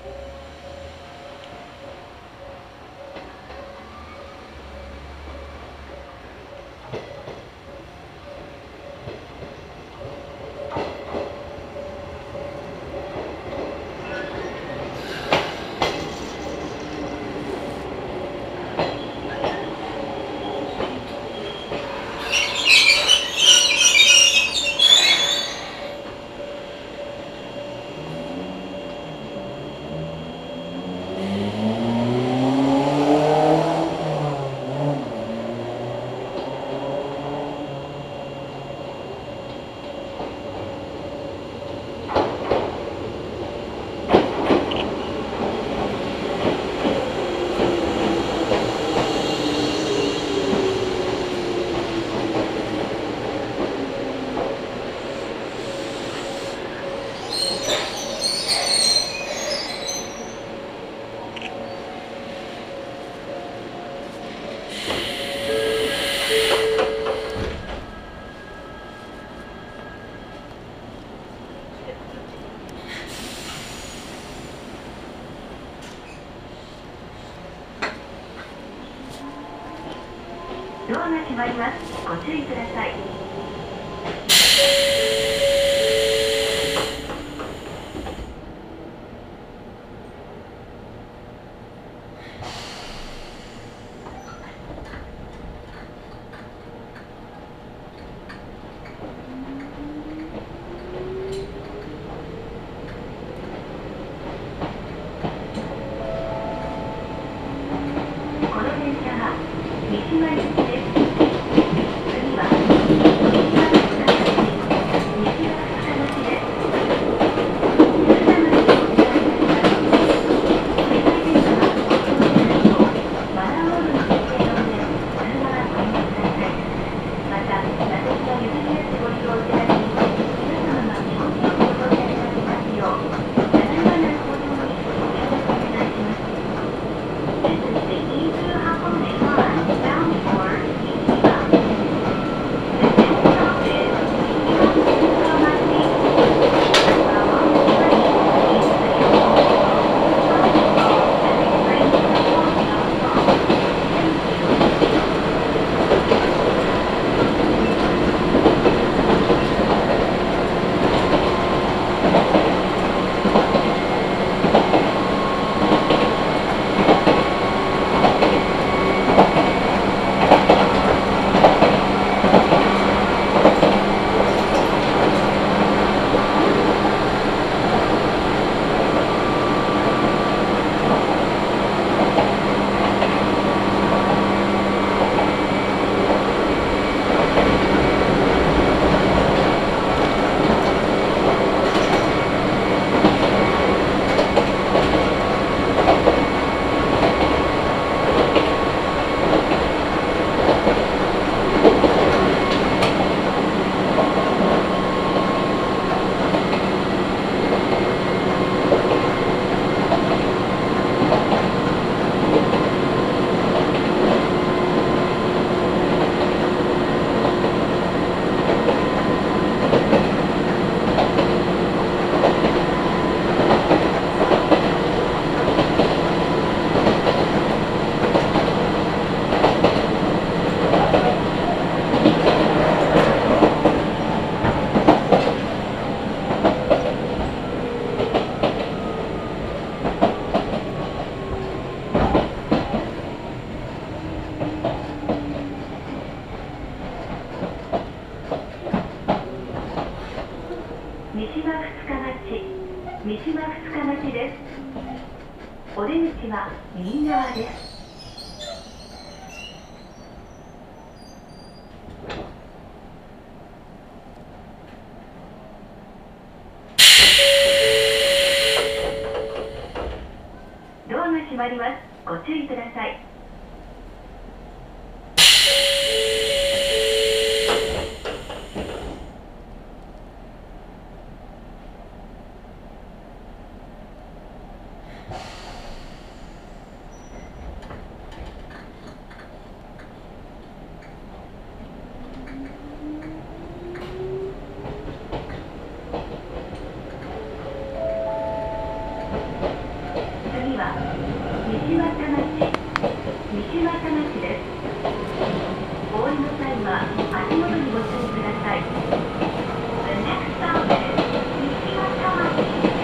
ドアが閉まります。ご注意ください。この電車は三島行きです。次は三島二日町です。お出口は右側です。ドアが閉まります。ご注意ください。 西俣町です。お降りの際は足元にご注意ください。The next stop is 西俣町。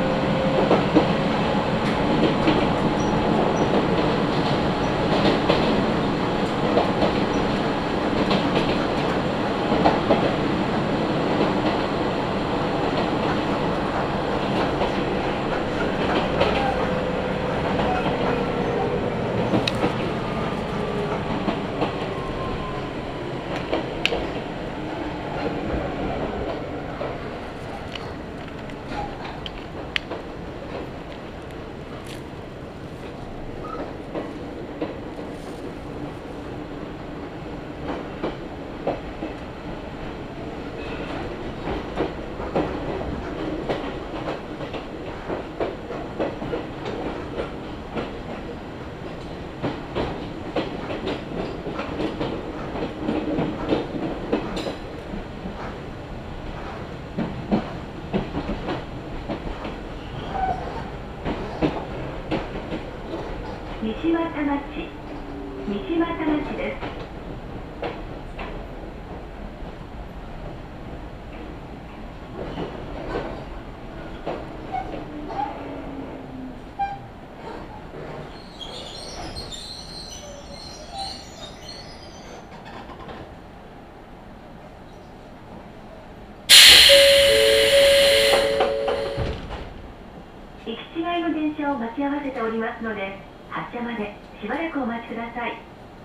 西俣町です。行き違いの電車を待ち合わせておりますので、発車までしばらくお待ちください。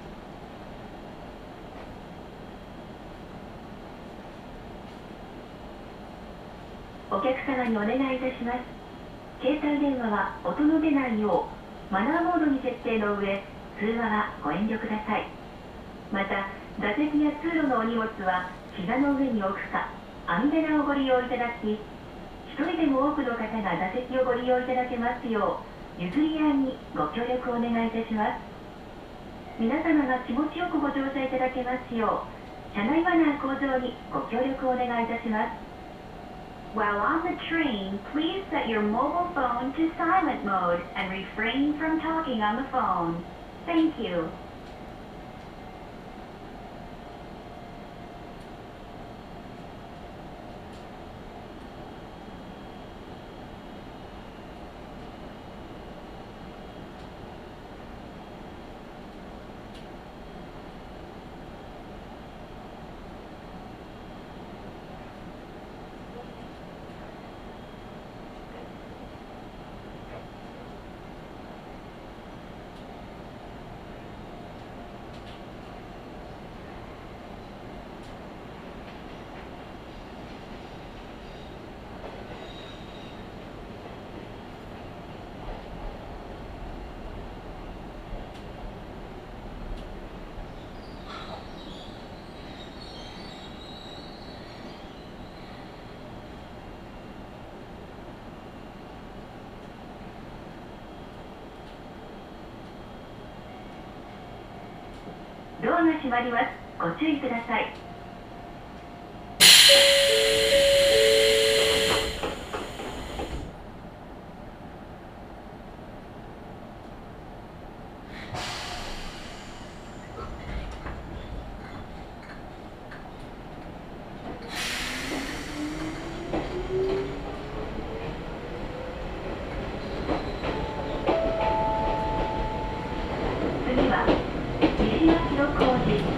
お客様にお願いいたします。携帯電話は音の出ないようマナーモードに設定の上、通話はご遠慮ください。また、座席や通路のお荷物は膝の上に置くか、網棚をご利用いただき、一人でも多くの方が座席をご利用いただけますよう、譲り合いにご協力をお願いいたします。皆様が気持ちよくご乗車いただけますよう、車内マナー向上にご協力をお願いいたします。While on the train, please set your mobile phone to silent mode and refrain from talking on the phone. Thank you. ドアが閉まります。ご注意ください。次は西町の工事です。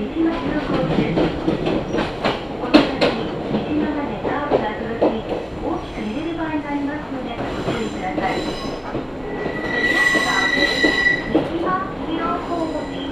この先に西側でカーブが続き、大きく揺れる場合がありますのでご注意ください。The next stop is 西町工事。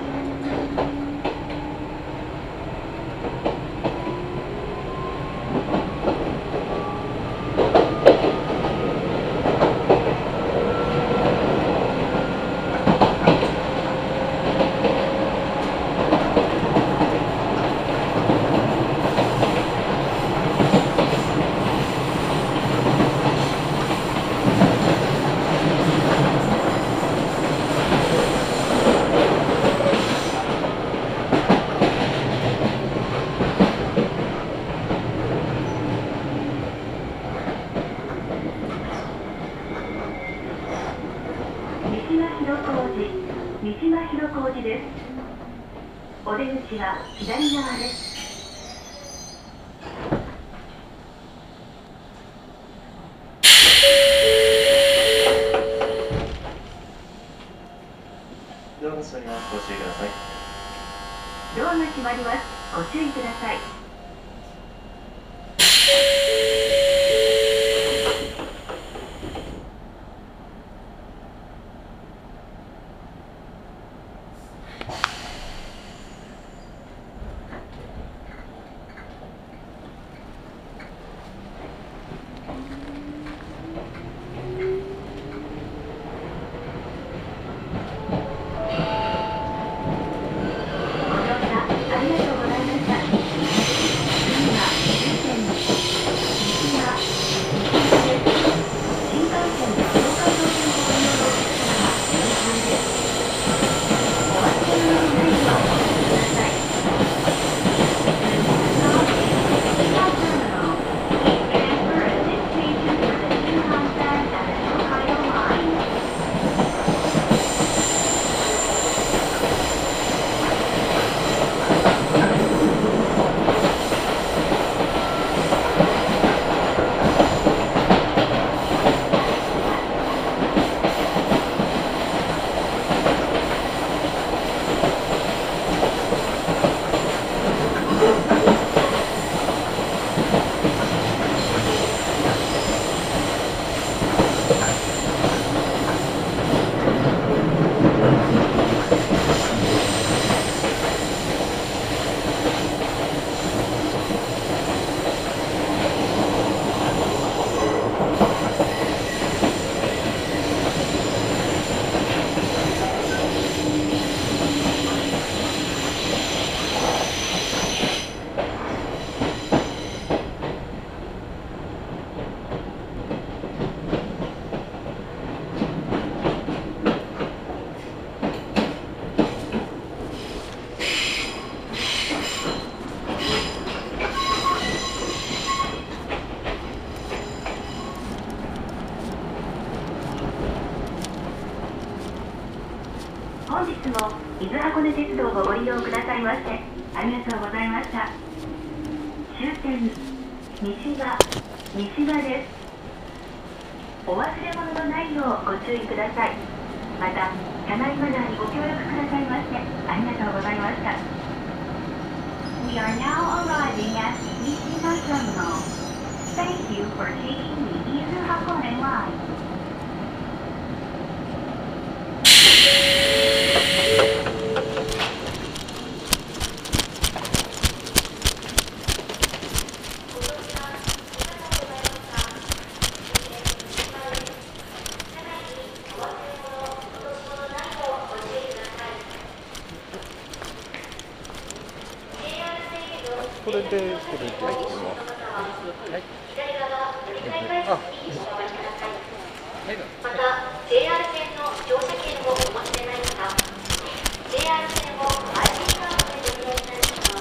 です。お出口は左側です。 ドアが閉まります。ご注意ください。 ドアが閉まります。ご注意ください。本日も伊豆箱根鉄道をご利用くださいましてありがとうございました。終点西場です。お忘れ物のないようご注意ください。また車内マナーにご協力くださいましてありがとうございました。 We are now arriving at Nishiba Terminal. Thank you for taking the伊豆箱根line. これで入ってます。はい。あ、 また JR 線の乗車券をお持ちでない方、JR 線を IC カードでご利用いただきます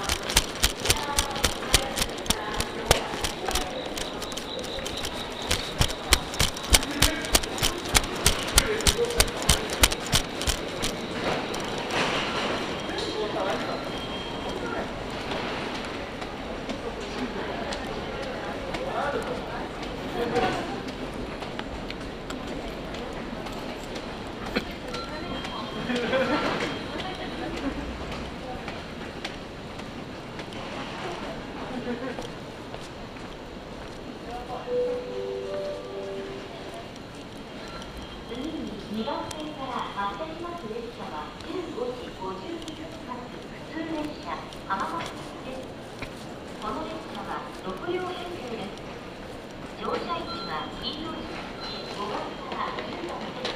。2番線から発車します列車は15時52分発普通列車浜松です。この列車は6両編成です。乗車位置は黄色い5番から10番です。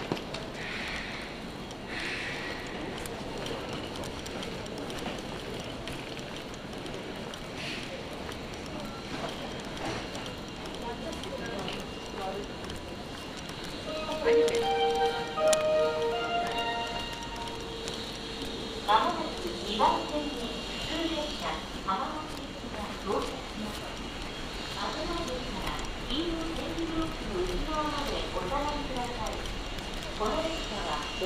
まもなく2番線に普通列車浜松行きが到着します。危ないですから黄色い点字ブロックの内側までお下がりください。この列車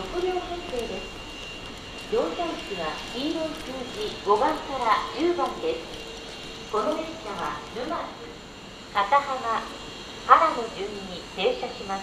6両編成です。乗車率は黄色い数字5番から10番です。この列車は沼津、片浜、原の順に停車します。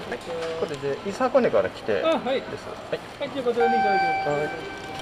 これで伊佐箱根から来てあ、はい。 です。はい。 はい、じゃあこちらにいただきます。 はい。